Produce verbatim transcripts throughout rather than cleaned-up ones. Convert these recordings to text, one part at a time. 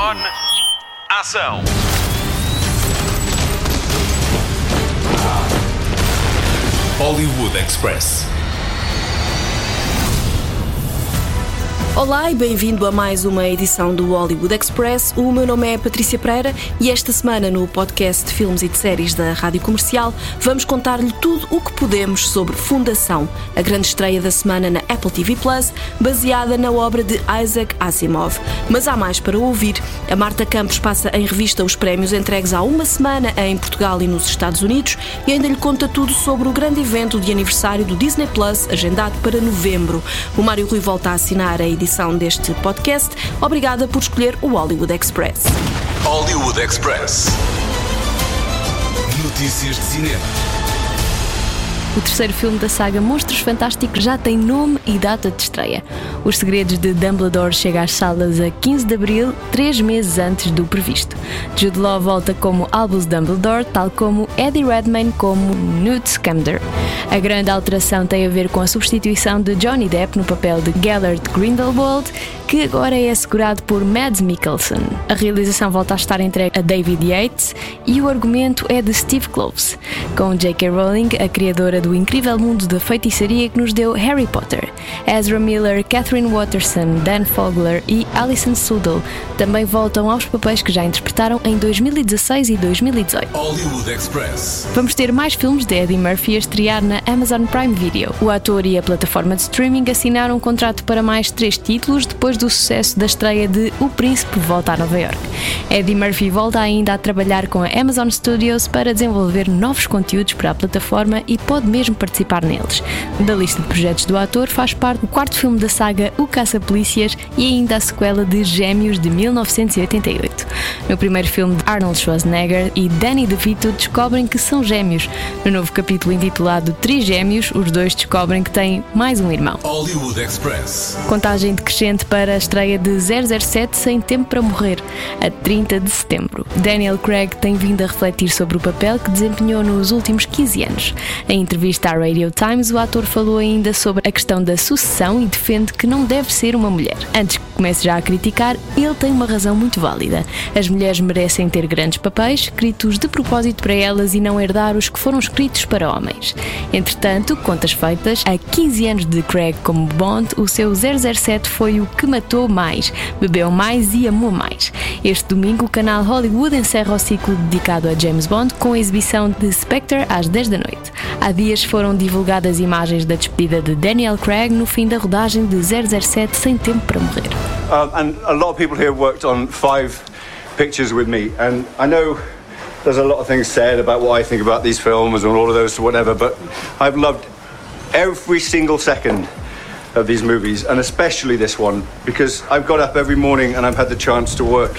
On. Ação. Hollywood Express. Olá e bem-vindo a mais uma edição do Hollywood Express. O meu nome é Patrícia Pereira e esta semana no podcast de filmes e de séries da Rádio Comercial vamos contar-lhe tudo o que podemos sobre Fundação, a grande estreia da semana na Apple T V Plus, baseada na obra de Isaac Asimov. Mas há mais para ouvir. A Marta Campos passa em revista os prémios entregues há uma semana em Portugal e nos Estados Unidos e ainda lhe conta tudo sobre o grande evento de aniversário do Disney Plus, agendado para novembro. O Mário Rui volta a assinar a edição deste podcast. Obrigada por escolher o Hollywood Express. Hollywood Express. Notícias de cinema. O terceiro filme da saga Monstros Fantásticos já tem nome e data de estreia. Os Segredos de Dumbledore chega às salas a quinze de abril, três meses antes do previsto. Jude Law volta como Albus Dumbledore, tal como Eddie Redmayne como Newt Scamander. A grande alteração tem a ver com a substituição de Johnny Depp no papel de Gellert Grindelwald, que agora é assegurado por Mads Mikkelsen. A realização volta a estar entregue a David Yates e o argumento é de Steve Kloves, com J K Rowling, a criadora do incrível mundo da feitiçaria que nos deu Harry Potter. Ezra Miller, Catherine Watterson, Dan Fogler e Alison Sudol também voltam aos papéis que já interpretaram em dois mil e dezasseis e dois mil e dezoito. Hollywood Express. Vamos ter mais filmes de Eddie Murphy a estrear na Amazon Prime Video. O ator e a plataforma de streaming assinaram um contrato para mais três títulos depois do sucesso da estreia de O Príncipe Volta a Nova York. Eddie Murphy volta ainda a trabalhar com a Amazon Studios para desenvolver novos conteúdos para a plataforma e pode mesmo participar neles. Da lista de projetos do ator faz parte o quarto filme da saga O Caça-Polícias e ainda a sequela de Gêmeos de mil novecentos e oitenta e oito. No primeiro filme, Arnold Schwarzenegger e Danny DeVito descobrem que são gêmeos. No novo capítulo intitulado Trigêmeos, os dois descobrem que têm mais um irmão. Hollywood Express. Contagem decrescente para a estreia de zero zero sete Sem Tempo para Morrer, a trinta de setembro. Daniel Craig tem vindo a refletir sobre o papel que desempenhou nos últimos quinze anos. Em entrevista à Radio Times, o ator falou ainda sobre a questão da sucessão e defende que não deve ser uma mulher. Antes que comece já a criticar, ele tem uma razão muito válida. As mulheres merecem ter grandes papéis, escritos de propósito para elas e não herdar os que foram escritos para homens. Entretanto, contas feitas, a quinze anos de Craig como Bond, o seu zero zero sete foi o que matou mais, bebeu mais e amou mais. Este domingo, o canal Hollywood encerra o ciclo dedicado a James Bond com a exibição de Spectre às dez da noite. Há dias foram divulgadas imagens da despedida de Daniel Craig no fim da rodagem de zero zero sete Sem Tempo para Morrer. Um, and a lot of people here worked on five pictures with me, and I know there's a lot of things said about what I think about these films and all of those whatever, but I've loved every single second of these movies, and especially this one, because I've got up every morning and I've had the chance to work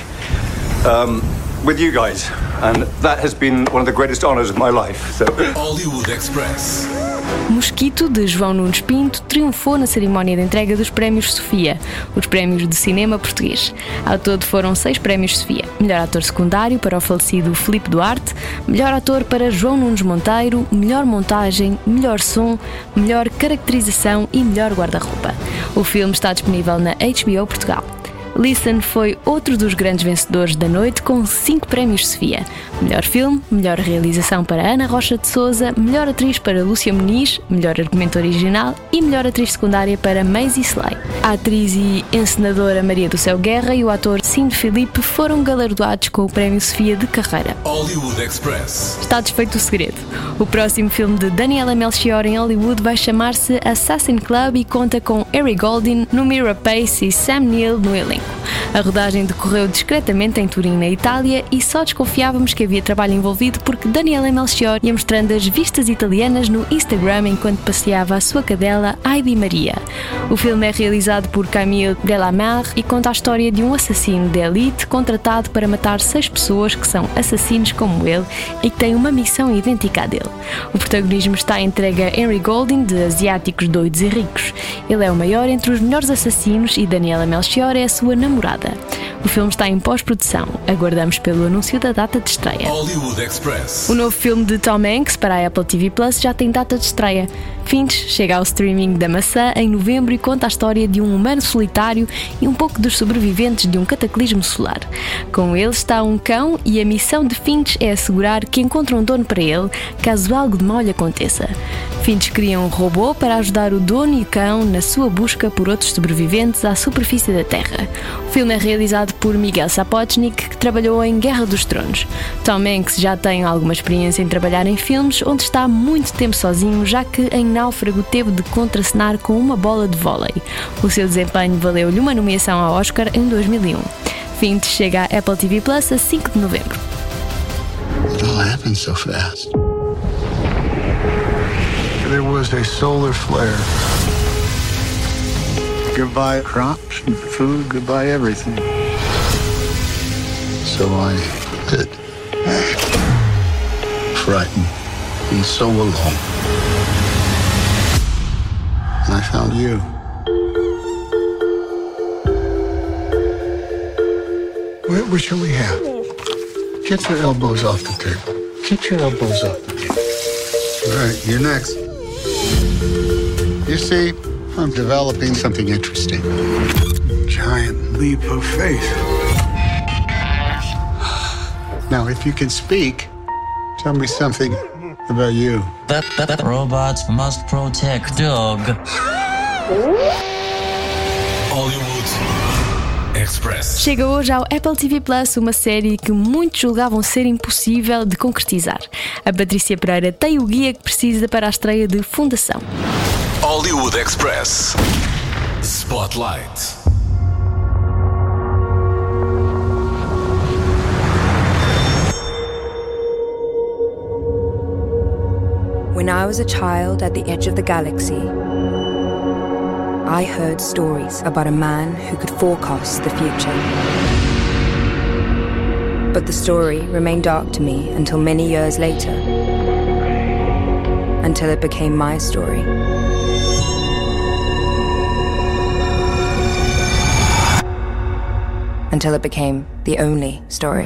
um, with you guys, and that has been one of the greatest honours of my life. So. Hollywood Express. Mosquito, de João Nunes Pinto, triunfou na cerimónia de entrega dos Prémios Sofia, os prémios de cinema português. Ao todo foram seis prémios Sofia. Melhor ator secundário para o falecido Filipe Duarte, melhor ator para João Nunes Monteiro, melhor montagem, melhor som, melhor caracterização e melhor guarda-roupa. O filme está disponível na H B O Portugal. Listen foi outro dos grandes vencedores da noite com cinco prémios Sofia. Melhor filme, melhor realização para Ana Rocha de Souza, melhor atriz para Lúcia Muniz, melhor argumento original e melhor atriz secundária para Maisie Slay. A atriz e encenadora Maria do Céu Guerra e o ator Cine Filipe foram galardoados com o prémio Sofia de carreira. Hollywood Express. Está desfeito o segredo. O próximo filme de Daniela Melchior em Hollywood vai chamar-se Assassin Club e conta com Harry Golding, Numira Pace e Sam Neill no elenco. A rodagem decorreu discretamente em Turim, na Itália, e só desconfiávamos que havia trabalho envolvido porque Daniela Melchior ia mostrando as vistas italianas no Instagram enquanto passeava a sua cadela Heidi Maria. O filme é realizado por Camille Delamare e conta a história de um assassino de elite contratado para matar seis pessoas que são assassinos como ele e que têm uma missão idêntica à dele. O protagonismo está entregue a Henry Golding, de Asiáticos Doidos e Ricos. Ele é o maior entre os melhores assassinos e Daniela Melchior é a sua namorada. O filme está em pós-produção. Aguardamos pelo anúncio da data de estreia. Hollywood Express. O novo filme de Tom Hanks para a Apple T V Plus já tem data de estreia. Finch chega ao streaming da maçã em novembro e conta a história de um humano solitário e um pouco dos sobreviventes de um cataclismo solar. Com ele está um cão e a missão de Finch é assegurar que encontra um dono para ele, caso algo de mal lhe aconteça. Finch cria um robô para ajudar o dono e o cão na sua busca por outros sobreviventes à superfície da Terra. O filme é realizado por Miguel Sapochnik, que trabalhou em Guerra dos Tronos. Tom Hanks já tem alguma experiência em trabalhar em filmes onde está muito tempo sozinho, já que em Náufrago teve de contracenar com uma bola de vôlei. O seu desempenho valeu-lhe uma nomeação ao Oscar em dois mil e um. Finch chega à Apple T V Plus a cinco de novembro. It all happened so fast. There was a solar flare. Goodbye crops and food, goodbye everything. So I did. Frightened and so alone. And I found you. What, what shall we have? Get your elbows off the table. Get your elbows off the table. All right, you're next. You see, I'm developing something interesting. Giant leap of faith. Now, if you can speak, tell me something about you. Robots must protect dog. Hollywood Express. Chega hoje ao Apple T V Plus uma série que muitos julgavam ser impossível de concretizar. A Patrícia Pereira tem o guia que precisa para a estreia de Fundação. Hollywood Express. Spotlight. When I was a child at the edge of the galaxy, I heard stories about a man who could forecast the future. But the story remained dark to me until many years later, until it became my story. Until it became the only story.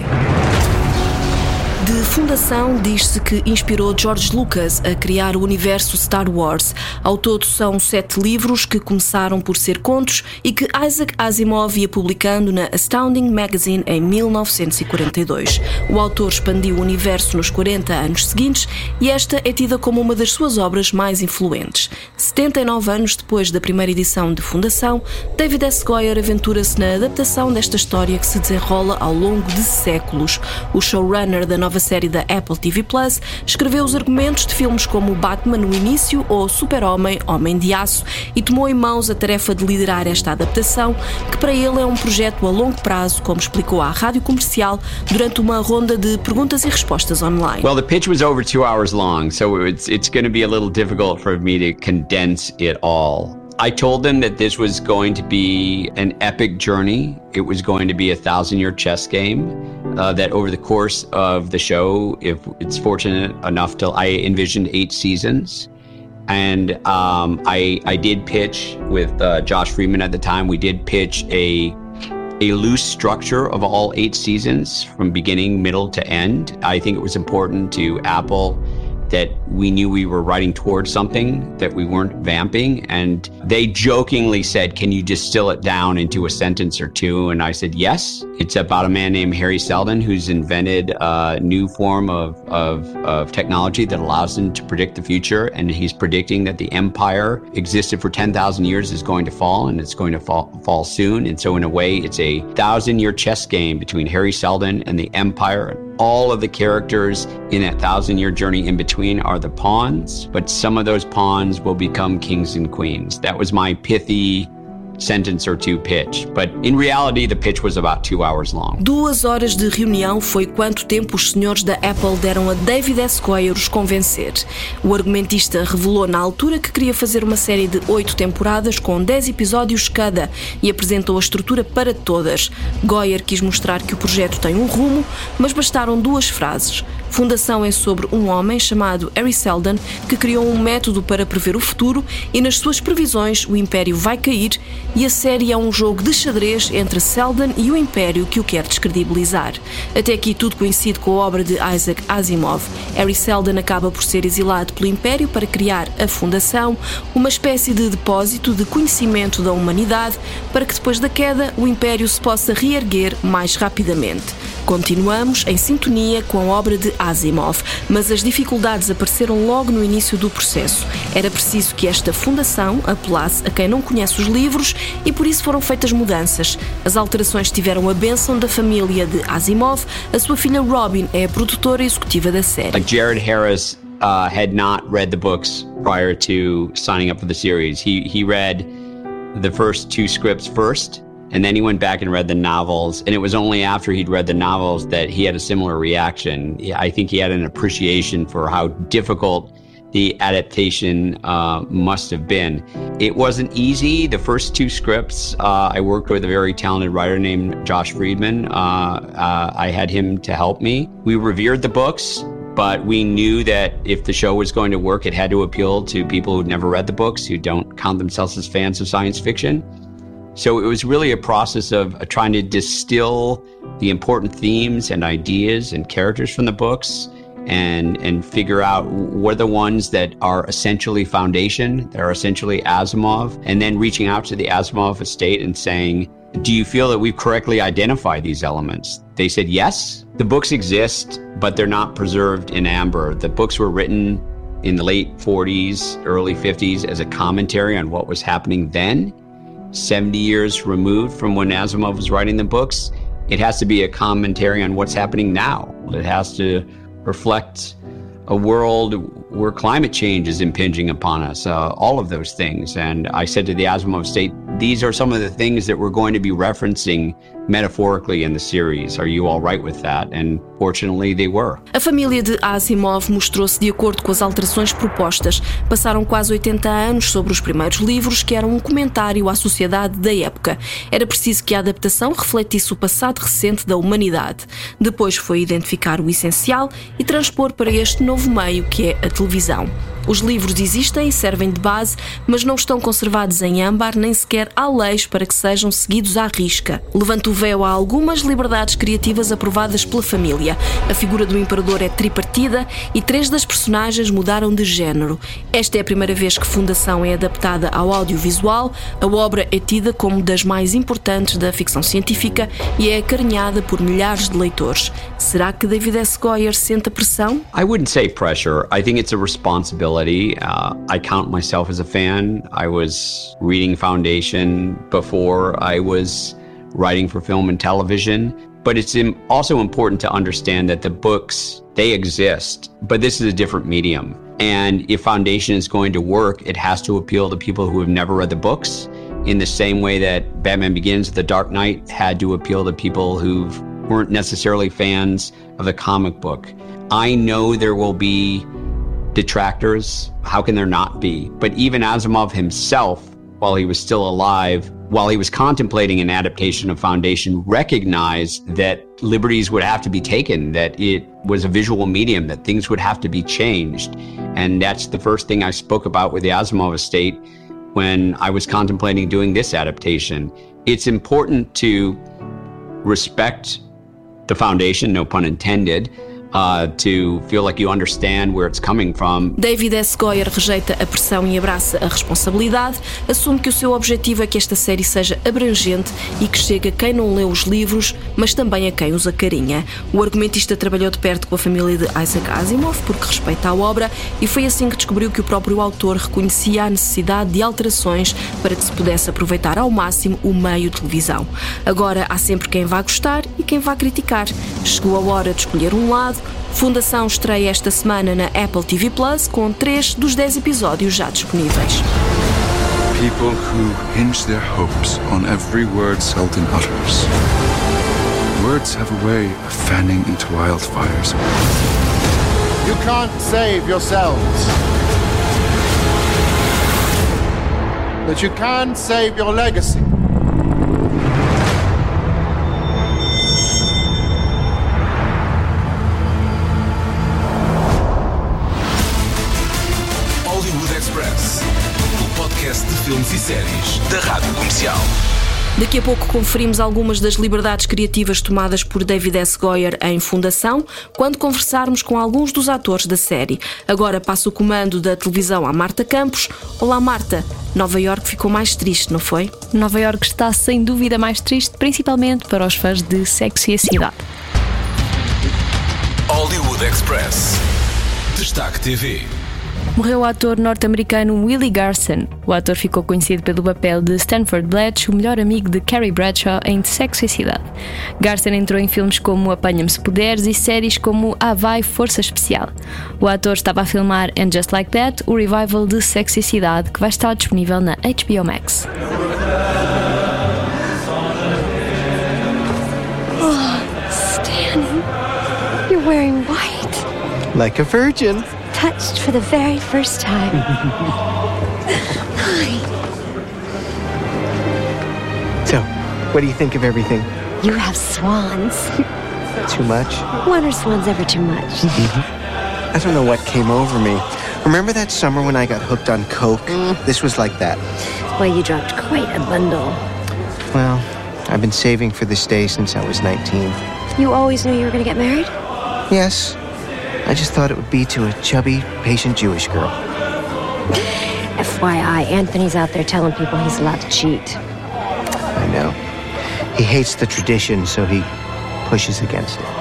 De Fundação diz-se que inspirou George Lucas a criar o universo Star Wars. Ao todo são sete livros que começaram por ser contos e que Isaac Asimov ia publicando na Astounding Magazine em mil novecentos e quarenta e dois. O autor expandiu o universo nos quarenta anos seguintes e esta é tida como uma das suas obras mais influentes. setenta e nove anos depois da primeira edição de Fundação, David S. Goyer aventura-se na adaptação desta história que se desenrola ao longo de séculos. O showrunner da nova série da Apple T V Plus escreveu os argumentos de filmes como Batman no início ou Super-Homem, Homem de Aço e tomou em mãos a tarefa de liderar esta adaptação, que para ele é um projeto a longo prazo, como explicou à Rádio Comercial durante uma ronda de perguntas e respostas online. Well, the pitch was over two hours long, so it's it's going to be a little difficult for me to condense it all. I told them that this was going to be an epic journey. It was going to be a thousand-year chess game. Uh, that over the course of the show, if it's fortunate enough to, I envisioned eight seasons. And um, I I did pitch with uh, Josh Freeman at the time. We did pitch a a loose structure of all eight seasons from beginning, middle to end. I think it was important to Apple that we knew we were writing towards something, that we weren't vamping. And they jokingly said, can you distill it down into a sentence or two? And I said, yes. It's about a man named Harry Seldon who's invented a new form of, of, of technology that allows him to predict the future. And he's predicting that the empire existed for ten thousand years is going to fall, and it's going to fall, fall soon. And so in a way, it's a thousand-year chess game between Harry Seldon and the empire. All of the characters in that thousand-year journey in between are the pawns, but some of those pawns will become kings and queens. That was my pithy sentence or two pitch, but in reality the pitch was about two hours long. Duas horas de reunião foi quanto tempo os senhores da Apple deram a David S. Goyer os convencer. O argumentista revelou na altura que queria fazer uma série de oito temporadas com dez episódios cada e apresentou a estrutura para todas. Goyer quis mostrar que o projeto tem um rumo, mas bastaram duas frases. Fundação é sobre um homem chamado Hari Seldon que criou um método para prever o futuro e nas suas previsões o Império vai cair e a série é um jogo de xadrez entre Seldon e o Império que o quer descredibilizar. Até aqui tudo coincide com a obra de Isaac Asimov. Hari Seldon acaba por ser exilado pelo Império para criar a Fundação, uma espécie de depósito de conhecimento da humanidade para que depois da queda o Império se possa reerguer mais rapidamente. Continuamos em sintonia com a obra de Asimov, mas as dificuldades apareceram logo no início do processo. Era preciso que esta fundação apelasse a quem não conhece os livros e por isso foram feitas mudanças. As alterações tiveram a bênção da família de Asimov. A sua filha Robin é a produtora executiva da série. Like Jared Harris uh, had not read the books prior to signing up for the series. He he read the first two scripts first. And then he went back and read the novels, and it was only after he'd read the novels that he had a similar reaction. I think he had an appreciation for how difficult the adaptation uh, must have been. It wasn't easy. The first two scripts, uh, I worked with a very talented writer named Josh Friedman. Uh, uh, I had him to help me. We revered the books, but we knew that if the show was going to work, it had to appeal to people who'd never read the books, who don't count themselves as fans of science fiction. So it was really a process of uh, trying to distill the important themes and ideas and characters from the books and and figure out what are the ones that are essentially Foundation, that are essentially Asimov, and then reaching out to the Asimov estate and saying, do you feel that we've correctly identified these elements? They said yes. The books exist, but they're not preserved in amber. The books were written in the late forties, early fifties as a commentary on what was happening then. seventy years removed from when Asimov was writing the books, it has to be a commentary on what's happening now. It has to reflect a world where climate change is impinging upon us, uh, all of those things. And I said to the Asimov estate, these are some of the things that we're going to be referencing metaphorically in the series. Are you all right with that? And fortunately they were. A família de Asimov mostrou-se de acordo com as alterações propostas. Passaram quase oitenta anos sobre os primeiros livros, que eram um comentário à sociedade da época. Era preciso que a adaptação refletisse o passado recente da humanidade. Depois foi identificar o essencial e transpor para este novo meio que é a televisão. Os livros existem e servem de base, mas não estão conservados em âmbar, nem sequer há leis para que sejam seguidos à risca. Levanta o véu a algumas liberdades criativas aprovadas pela família. A figura do imperador é tripartida e três das personagens mudaram de género. Esta é a primeira vez que Fundação é adaptada ao audiovisual. A obra é tida como das mais importantes da ficção científica e é acarinhada por milhares de leitores. Será que David S. Goyer sente a pressão? I wouldn't say pressure. I think it's a responsibility. Uh, I count myself as a fan. I was reading Foundation before I was writing for film and television. But it's also important to understand that the books, they exist, but this is a different medium. And if Foundation is going to work, it has to appeal to people who have never read the books in the same way that Batman Begins, The Dark Knight had to appeal to people who weren't necessarily fans of the comic book. I know there will be detractors. How can there not be? But even Asimov himself, while he was still alive, while he was contemplating an adaptation of Foundation, recognized that liberties would have to be taken, that it was a visual medium, that things would have to be changed. And that's the first thing I spoke about with the Asimov estate when I was contemplating doing this adaptation. It's important to respect the Foundation, no pun intended, Uh, to feel like you understand where it's coming from. David S. Goyer rejeita a pressão e abraça a responsabilidade, assume que o seu objetivo é que esta série seja abrangente e que chegue a quem não lê os livros, mas também a quem os acarinha. O argumentista trabalhou de perto com a família de Isaac Asimov porque respeita a obra e foi assim que descobriu que o próprio autor reconhecia a necessidade de alterações para que se pudesse aproveitar ao máximo o meio televisão. Agora há sempre quem vá gostar e quem vá criticar. Chegou a hora de escolher um lado. Fundação estreia esta semana na Apple T V Plus com três dos dez episódios já disponíveis. People who hinge their hopes on every word Seldon utters. Words have a way of fanning into wildfires. You can't save yourselves, but you can save your legacy. filmes e séries da Rádio Comercial. Daqui a pouco conferimos algumas das liberdades criativas tomadas por David S. Goyer em Fundação, quando conversarmos com alguns dos atores da série. Agora passo o comando da televisão à Marta Campos. Olá, Marta. Nova Iorque ficou mais triste, não foi? Nova Iorque está sem dúvida mais triste, principalmente para os fãs de Sexo e a Cidade. Hollywood Express. Destaque T V. Morreu o ator norte-americano Willie Garson. O ator ficou conhecido pelo papel de Stanford Blatch, o melhor amigo de Carrie Bradshaw em Sexo e Cidade. Garson entrou em filmes como Apanha-me se Puderes e séries como Ah Vai, Força Especial. O ator estava a filmar And Just Like That, o revival de Sexo e Cidade, que vai estar disponível na H B O Max. Oh, Stan, you're wearing white. Like a virgin. Touched for the very first time. Hi. So, what do you think of everything? You have swans. Too much? When are swans ever too much? I don't know what came over me. Remember that summer when I got hooked on Coke? Mm. This was like that. Well, you dropped quite a bundle. Well, I've been saving for this day since I was nineteen. You always knew you were going to get married? Yes. I just thought it would be to a chubby, patient Jewish girl. F Y I, Anthony's out there telling people he's allowed to cheat. I know. He hates the tradition, so he pushes against it.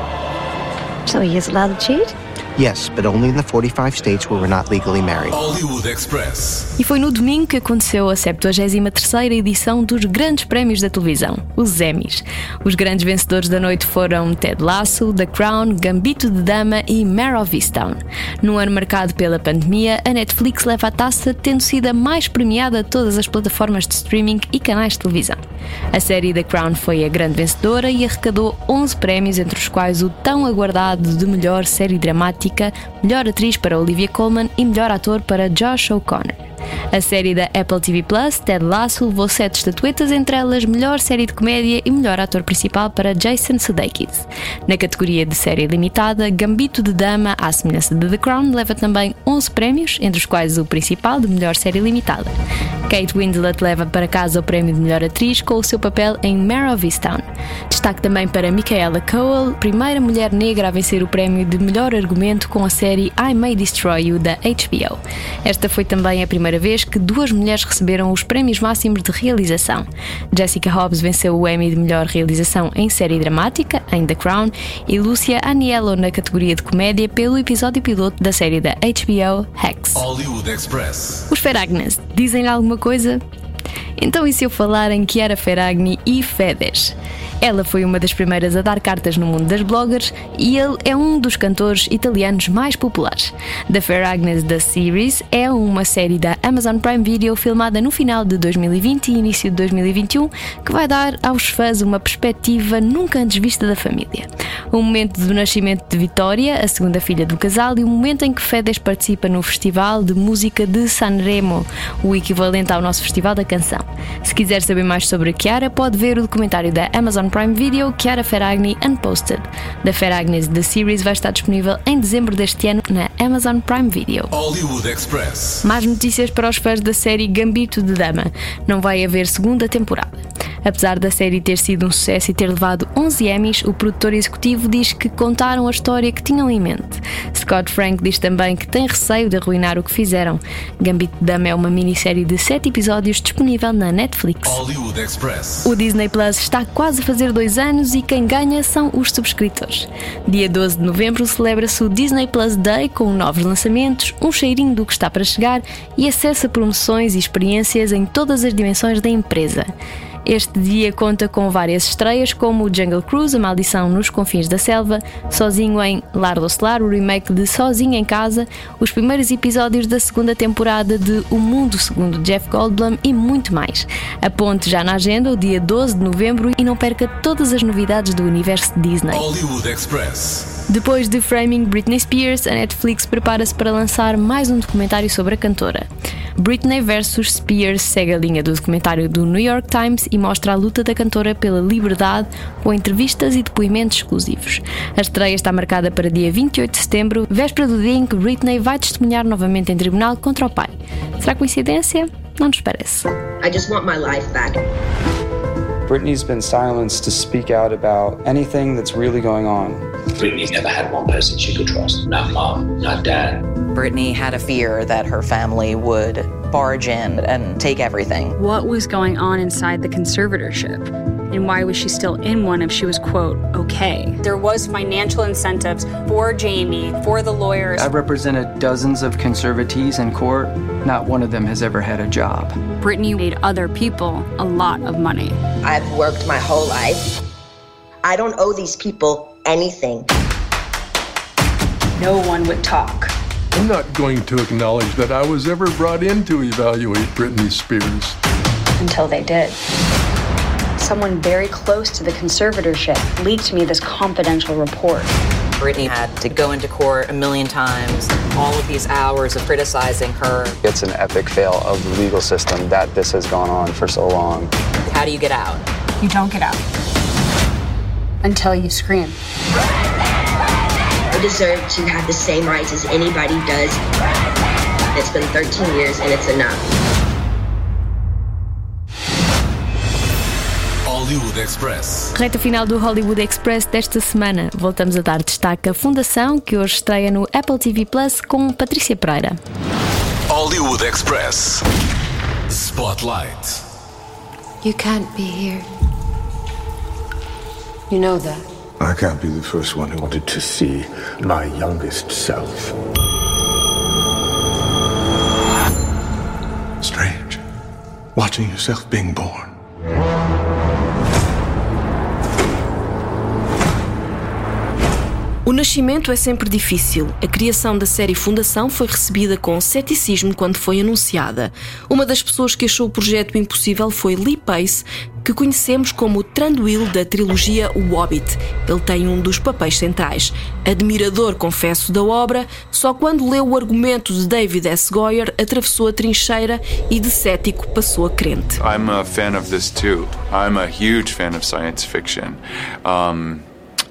So he is allowed to cheat? Yes, but only in the forty-five states where we're not legally married. Hollywood Express. E foi no domingo que aconteceu a septuagésima terceira edição dos grandes prémios da televisão, os Emmys. Os grandes vencedores da noite foram Ted Lasso, The Crown, Gambito de Dama e Mare of Easttown. Num ano marcado pela pandemia, a Netflix leva a taça, tendo sido a mais premiada de todas as plataformas de streaming e canais de televisão. A série The Crown foi a grande vencedora e arrecadou onze prémios, entre os quais o tão aguardado de melhor série dramática, melhor atriz para Olivia Colman e melhor ator para Josh O'Connor. A série da Apple T V Plus, Ted Lasso, levou sete estatuetas, entre elas melhor série de comédia e melhor ator principal para Jason Sudeikis. Na categoria de série limitada, Gambito de Dama, à semelhança de The Crown, leva também onze prémios, entre os quais o principal de melhor série limitada. Kate Winslet leva para casa o prémio de melhor atriz com o seu papel em Mare of Easttown. Destaque também para Michaela Coel, primeira mulher negra a vencer o prémio de melhor argumento com a série I May Destroy You da H B O. Esta foi também a primeira vez que duas mulheres receberam os prémios máximos de realização. Jessica Hobbs venceu o Emmy de melhor realização em série dramática, em The Crown, e Lucia Aniello na categoria de comédia pelo episódio piloto da série da H B O Hacks. Hollywood Express. Os Ferragnes dizem-lhe alguma coisa? Então e se eu falar em Chiara Ferragni e Fedez? Ela foi uma das primeiras a dar cartas no mundo das bloggers e ele é um dos cantores italianos mais populares. The Ferragnes The Series é uma série da Amazon Prime Video filmada no final de dois mil e vinte e início de dois mil e vinte e um que vai dar aos fãs uma perspectiva nunca antes vista da família. O momento do nascimento de Vittoria, a segunda filha do casal, e o momento em que Fedez participa no Festival de Música de Sanremo, o equivalente ao nosso Festival da Canção. Se quiser saber mais sobre Chiara, pode ver o documentário da Amazon Prime Video, Chiara Ferragni Unposted. The Ferragnes The Series vai estar disponível em dezembro deste ano na Amazon Prime Video. Hollywood Express. Mais notícias para os fãs da série Gambito de Dama. Não vai haver segunda temporada. Apesar da série ter sido um sucesso e ter levado onze Emmys, o produtor executivo diz que contaram a história que tinham em mente. Scott Frank diz também que tem receio de arruinar o que fizeram. Gambito de Dama é uma minissérie de sete episódios disponível na Netflix. Hollywood Express. O Disney Plus está quase a fazer dois anos e quem ganha são os subscritores. Dia doze de novembro celebra-se o Disney Plus Day com novos lançamentos, um cheirinho do que está para chegar e acesso a promoções e experiências em todas as dimensões da empresa. Este dia conta com várias estreias como o Jungle Cruise, A Maldição nos Confins da Selva, Sozinho em Lar do Celar, o remake de Sozinho em Casa, os primeiros episódios da segunda temporada de O Mundo segundo Jeff Goldblum e muito mais. Aponte já na agenda o dia doze de novembro e não perca todas as novidades do universo Disney. Hollywood Express. Depois de Framing Britney Spears, a Netflix prepara-se para lançar mais um documentário sobre a cantora. Britney versus Spears segue a linha do documentário do New York Times e mostra a luta da cantora pela liberdade, com entrevistas e depoimentos exclusivos. A estreia está marcada para dia vinte e oito de setembro, véspera do dia em que Britney vai testemunhar novamente em tribunal contra o pai. Será coincidência? Não nos parece. I just want my life back. Britney's been silenced to speak out about anything that's really going on. Britney's never had one person she could trust. Not mom, not dad. Britney had a fear that her family would barge in and take everything. What was going on inside the conservatorship? And why was she still in one if she was, quote, okay? There was financial incentives for Jamie, for the lawyers. I've represented dozens of conservatees in court. Not one of them has ever had a job. Britney made other people a lot of money. I've worked my whole life. I don't owe these people anything. No one would talk. I'm not going to acknowledge that I was ever brought in to evaluate Britney Spears. Until they did. Someone very close to the conservatorship leaked me this confidential report. Britney had to go into court a million times, all of these hours of criticizing her. It's an epic fail of the legal system that this has gone on for so long. How do you get out? You don't get out. Until you scream. I deserve to have the same rights as anybody does. It's been thirteen years and it's enough. Hollywood Express. Reta final do Hollywood Express desta semana. Voltamos a dar destaque à Fundação, que hoje estreia no Apple T V Plus com Patrícia Pereira. Hollywood Express. Spotlight. You can't be here. You know that. I can't be the first one who wanted to see my youngest self. Strange. Watching yourself being born. O nascimento é sempre difícil. A criação da série Fundação foi recebida com ceticismo quando foi anunciada. Uma das pessoas que achou o projeto impossível foi Lee Pace, que conhecemos como o Thranduil da trilogia O Hobbit. Ele tem um dos papéis centrais. Admirador, confesso, da obra, só quando leu o argumento de David S. Goyer atravessou a trincheira e de cético passou a crente. I'm a fan of this too. I'm a huge fan of science fiction. Um...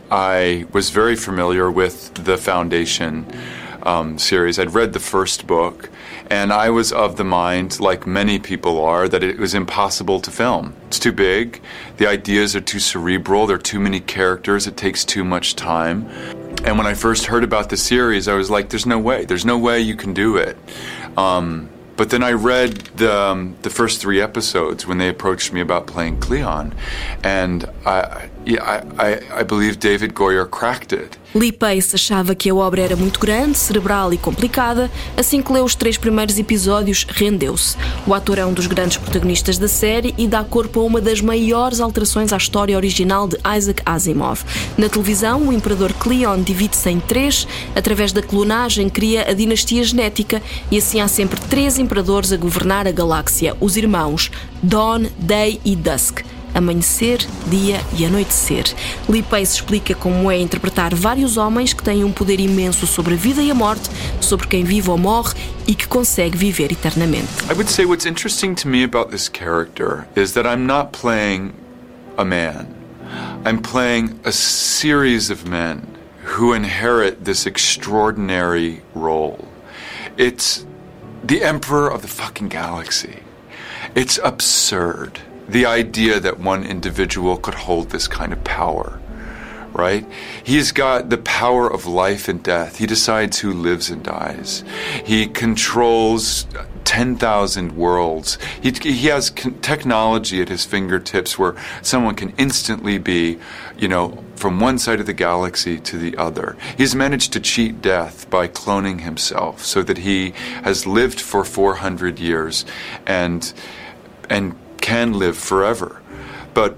I was very familiar with the Foundation um, series. I'd read the first book, and I was of the mind, like many people are, that it was impossible to film. It's too big, the ideas are too cerebral, there are too many characters, it takes too much time. And when I first heard about the series, I was like, there's no way, there's no way you can do it. Um, But then I read the, um, the first three episodes when they approached me about playing Cleon, and I, yeah, I, I believe David Goyer cracked it. Lee Pace achava que a obra era muito grande, cerebral e complicada. Assim que leu os três primeiros episódios, rendeu-se. O ator é um dos grandes protagonistas da série e dá corpo a uma das maiores alterações à história original de Isaac Asimov. Na televisão, o imperador Cleon divide-se em três. Através da clonagem, cria a dinastia genética e assim há sempre três imperadores a governar a galáxia, os irmãos Dawn, Day e Dusk. Amanhecer, dia e anoitecer. Lee Pace explica como é interpretar vários homens que têm um poder imenso sobre a vida e a morte, sobre quem vive ou morre e que consegue viver eternamente. I would say what's interesting to me about this character is that I'm not playing a man. I'm playing a series of men who inherit this extraordinary role. It's the emperor of the fucking galaxy. It's absurd. The idea that one individual could hold this kind of power, right? He's got the power of life and death. He decides who lives and dies. He controls ten thousand worlds. He, he has technology at his fingertips where someone can instantly be, you know, from one side of the galaxy to the other. He's managed to cheat death by cloning himself so that he has lived for four hundred years and and can live forever. But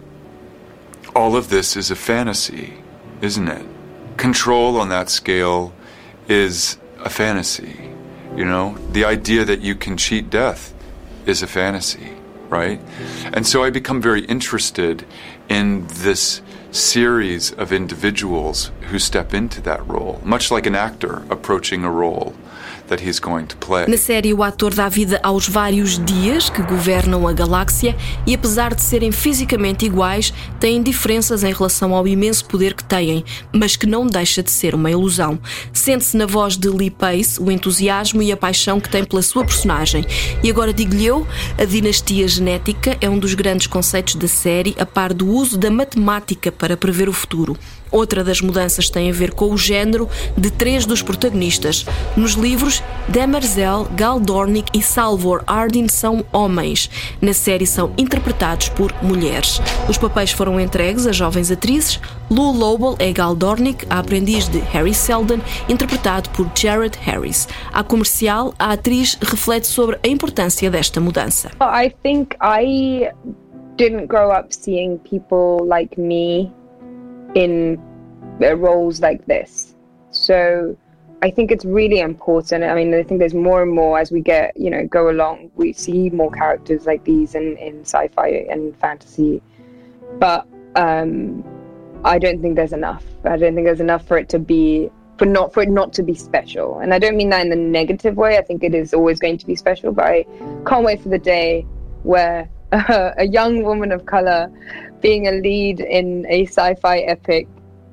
all of this is a fantasy, isn't it? Control on that scale is a fantasy, you know? The idea that you can cheat death is a fantasy, right? And so I become very interested in this series of individuals who step into that role, much like an actor approaching a role that he's going to play. Na série, o ator dá vida aos vários dias que governam a galáxia e, apesar de serem fisicamente iguais, têm diferenças em relação ao imenso poder que têm, mas que não deixa de ser uma ilusão. Sente-se na voz de Lee Pace o entusiasmo e a paixão que tem pela sua personagem. E agora digo-lhe eu, a dinastia genética é um dos grandes conceitos da série, a par do uso da matemática para prever o futuro. Outra das mudanças tem a ver com o género de três dos protagonistas. Nos livros, Demerzel, Gal Dornick e Salvor Hardin são homens. Na série são interpretados por mulheres. Os papéis foram entregues a jovens atrizes. Lou Lobel é Gal Dornick, a aprendiz de Harry Seldon, interpretado por Jared Harris. À comercial, a atriz reflete sobre a importância desta mudança. I think I didn't grow up seeing people like me in roles like this, so I think it's really important. I mean, I think there's more and more as we get, you know, go along, we see more characters like these in, in sci-fi and fantasy, but um, I don't think there's enough. I don't think there's enough for it to be, for not for it not to be special. And I don't mean that in the negative way. I think it is always going to be special, but I can't wait for the day where uh, a young woman of color being a lead in a sci-fi epic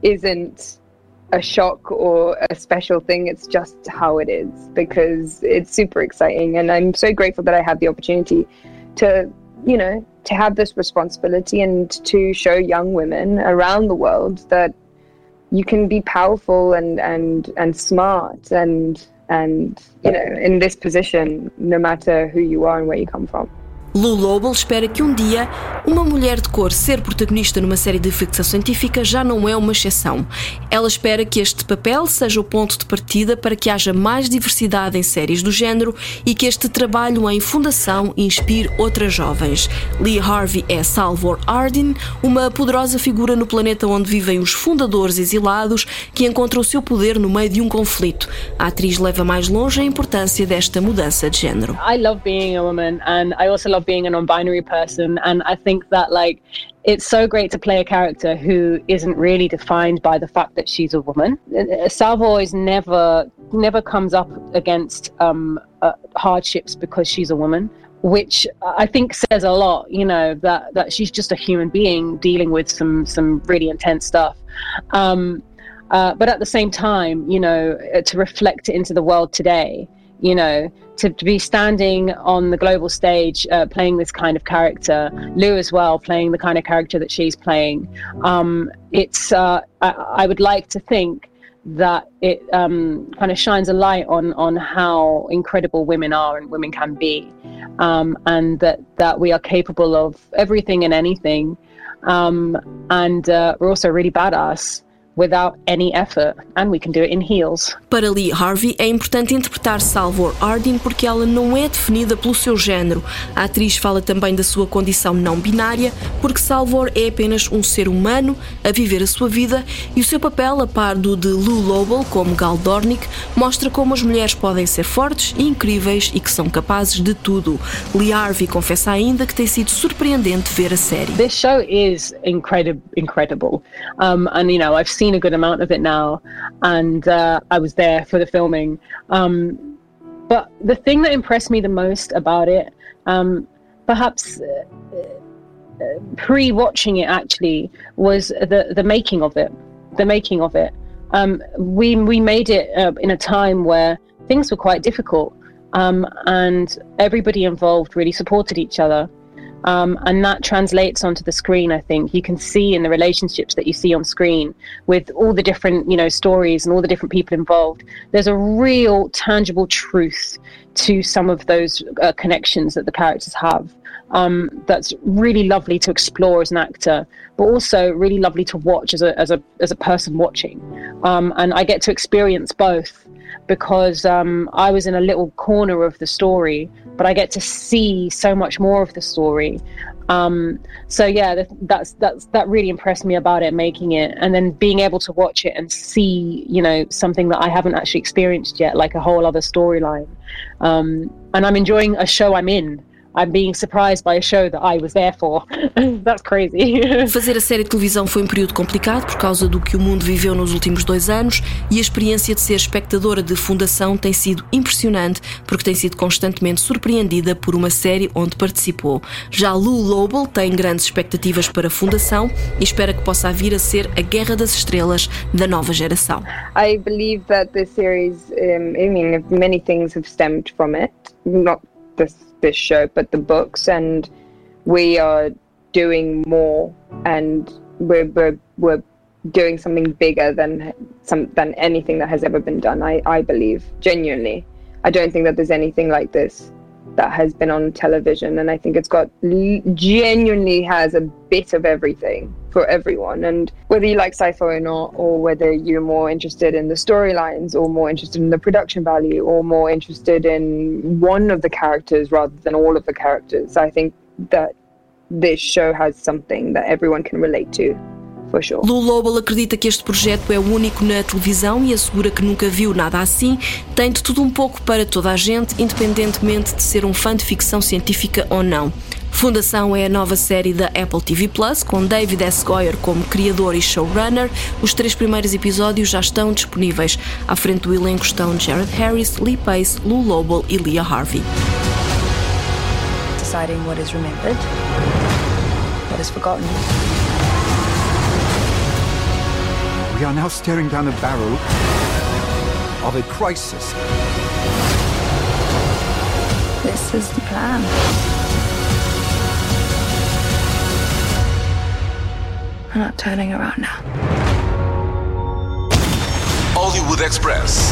isn't a shock or a special thing. It's just how it is, because it's super exciting, and I'm so grateful that I have the opportunity to, you know, to have this responsibility and to show young women around the world that you can be powerful and and and smart and and you know, in this position, no matter who you are and where you come from. Lou Lobel espera que um dia uma mulher de cor ser protagonista numa série de ficção científica já não é uma exceção. Ela espera que este papel seja o ponto de partida para que haja mais diversidade em séries do género e que este trabalho em fundação inspire outras jovens. Lee Harvey é Salvor Hardin, uma poderosa figura no planeta onde vivem os fundadores exilados que encontram o seu poder no meio de um conflito. A atriz leva mais longe a importância desta mudança de género. I love being a woman, and I also love being a non-binary person, and I think that like it's so great to play a character who isn't really defined by the fact that she's a woman. Salvor is never never comes up against um, uh, hardships because she's a woman, which I think says a lot, you know, that that she's just a human being dealing with some some really intense stuff. Um, uh, but at the same time, you know, to reflect it into the world today, you know, to, to be standing on the global stage uh, playing this kind of character, Lou as well playing the kind of character that she's playing, um, it's uh, I, I would like to think that it um, kind of shines a light on on how incredible women are and women can be, um, and that, that we are capable of everything and anything, um, and uh, we're also really badass without any effort, and we can do it in heels. Para Lee Harvey é importante interpretar Salvor Hardin porque ela não é definida pelo seu género. A atriz fala também da sua condição não binária, porque Salvor é apenas um ser humano a viver a sua vida, e o seu papel, a par do de Lou Lobel como Gal Dornick, mostra como as mulheres podem ser fortes e incríveis e que são capazes de tudo. Lee Harvey confessa ainda que tem sido surpreendente ver a série. This show is incredible, incredible, um, and you know, I've seen a good amount of it now, and uh, I was there for the filming, um, but the thing that impressed me the most about it, um, perhaps uh, uh, pre-watching it actually, was the the making of it the making of it um, we we made it uh, in a time where things were quite difficult, um, and everybody involved really supported each other. Um, and that translates onto the screen. I think you can see in the relationships that you see on screen with all the different, you know, stories and all the different people involved. There's a real tangible truth to some of those uh, connections that the characters have. Um, that's really lovely to explore as an actor, but also really lovely to watch as a as a as a person watching. Um, and I get to experience both, because um, I was in a little corner of the story, but I get to see so much more of the story. Um, so yeah, that, that's that's that really impressed me about it, making it, and then being able to watch it and see, you know, something that I haven't actually experienced yet, like a whole other storyline. Um, and I'm enjoying a show I'm in. I'm being surprised by a show that I was there for. That's crazy. Fazer a série de televisão foi um período complicado por causa do que o mundo viveu nos últimos dois anos e a experiência de ser espectadora de Fundação tem sido impressionante porque tem sido constantemente surpreendida por uma série onde participou. Já Lou Lobel tem grandes expectativas para Fundação e espera que possa vir a ser a Guerra das Estrelas da nova geração. I believe that the series, um, I mean, many things have stemmed from it, not this this show, but the books, and we are doing more, and we're we're, we're doing something bigger than some than anything that has ever been done. I I believe genuinely. I don't think that there's anything like this that has been on television, and I think it's got genuinely has a bit of everything for everyone, and whether you like sci-fi or not, or whether you're more interested in the storylines or more interested in the production value or more interested in one of the characters rather than all of the characters, I think that this show has something that everyone can relate to. For sure. Lou Lobel acredita que este projeto é único na televisão e assegura que nunca viu nada assim. Tem de tudo um pouco para toda a gente, independentemente de ser um fã de ficção científica ou não. Fundação é a nova série da Apple T V Plus, com David S. Goyer como criador e showrunner. Os três primeiros episódios já estão disponíveis. À frente do elenco estão Jared Harris, Lee Pace, Lou Lobel e Leah Harvey. Deciding what is remembered, what is forgotten. We are now staring down the barrel of a crisis. This is the plan. I'm not turning around now. Hollywood Express.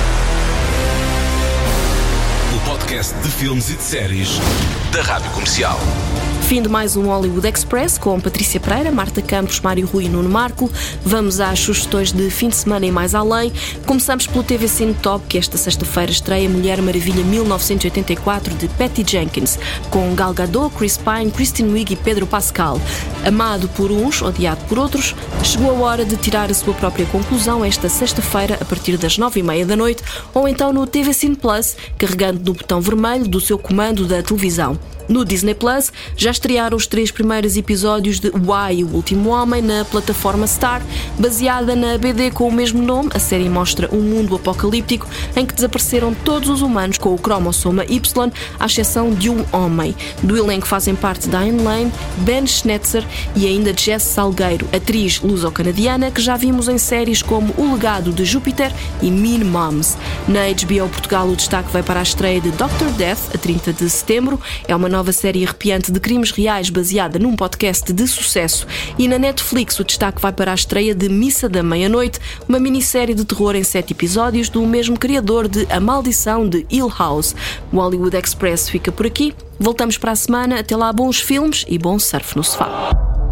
O podcast de filmes e de séries da Rádio Comercial. Fim de mais um Hollywood Express com Patrícia Pereira, Marta Campos, Mário Rui e Nuno Marco. Vamos às sugestões de fim de semana e mais além. Começamos pelo T V Cine Top, que esta sexta-feira estreia Mulher Maravilha mil novecentos e oitenta e quatro de Patty Jenkins, com Gal Gadot, Chris Pine, Kristen Wiig e Pedro Pascal. Amado por uns, odiado por outros, chegou a hora de tirar a sua própria conclusão esta sexta-feira a partir das nove e meia da noite ou então no T V Cine Plus, carregando no botão vermelho do seu comando da televisão. No Disney Plus, já estrearam os três primeiros episódios de Why, o Último Homem, na plataforma Star. Baseada na B D com o mesmo nome, a série mostra um mundo apocalíptico em que desapareceram todos os humanos com o cromossoma Y, à exceção de um homem. Do elenco fazem parte Diane Lane, Ben Schnetzer e ainda Jess Salgueiro, atriz luso-canadiana que já vimos em séries como O Legado de Júpiter e Mean Moms. Na H B O Portugal, o destaque vai para a estreia de doutor Death, a trinta de setembro. É uma nova série arrepiante de crimes reais baseada num podcast de sucesso. E na Netflix o destaque vai para a estreia de Missa da Meia-Noite, uma minissérie de terror em sete episódios do mesmo criador de A Maldição de Hill House. O Hollywood Express fica por aqui. Voltamos para a semana. Até lá, bons filmes e bom surf no sofá.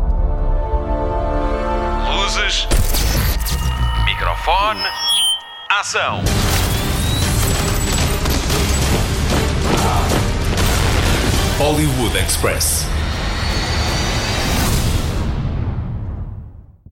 Luzes, microfone, ação. Hollywood Express.